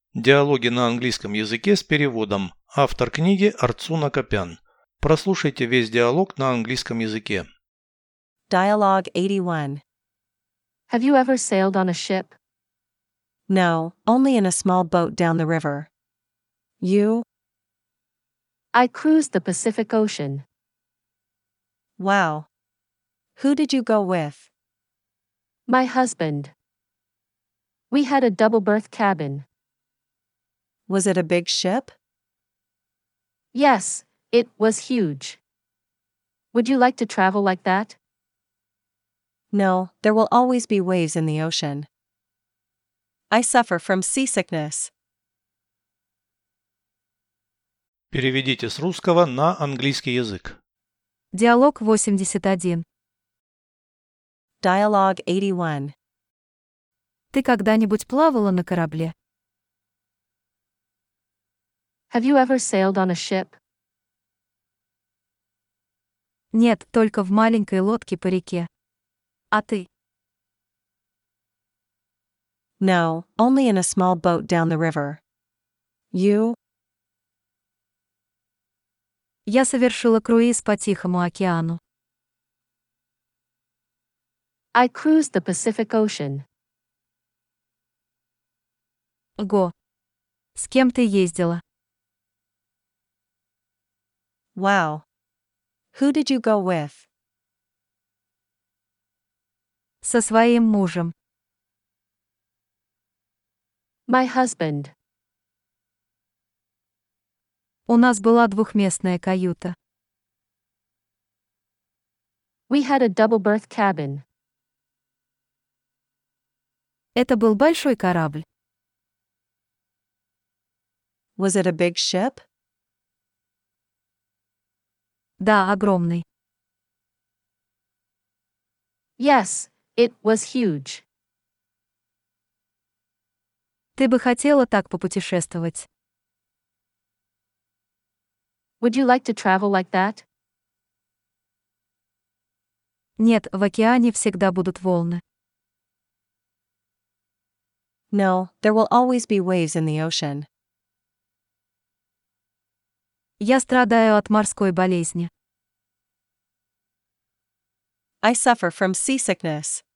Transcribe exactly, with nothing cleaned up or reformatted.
Диалоги на английском языке с переводом. Автор книги Арцуна Копян. Прослушайте весь диалог на английском языке. Dialogue eighty-one. Have you ever sailed on a ship? No, only in a small boat down the river. You? I cruised the Pacific Ocean. Wow. Who did you go with? My husband. We had a double-berth cabin. Was it a big ship? Yes, it was huge. Would you like to travel like that? No, there will always be waves in the ocean. I suffer from seasickness. Переведите с русского на английский язык. Диалог восемьдесят один. Dialogue eighty-one. Ты когда-нибудь плавала на корабле? Have you ever sailed on a ship? Нет, только в маленькой лодке по реке. А ты? No, only in a small boat down the river. You? Я совершила круиз по Тихому океану. I cruised the Pacific Ocean. Го. С кем ты ездила? Wow. Who did you go with? Со своим мужем. My husband. У нас была двухместная каюта. We had a double-berth cabin. Это был большой корабль. Was it a big ship? Да, огромный. Yes, it was huge. Ты бы хотела так попутешествовать? Would you like to travel like that? Нет, в океане всегда будут волны. No, there will always be waves in the ocean. Я страдаю от морской болезни. I suffer from seasickness.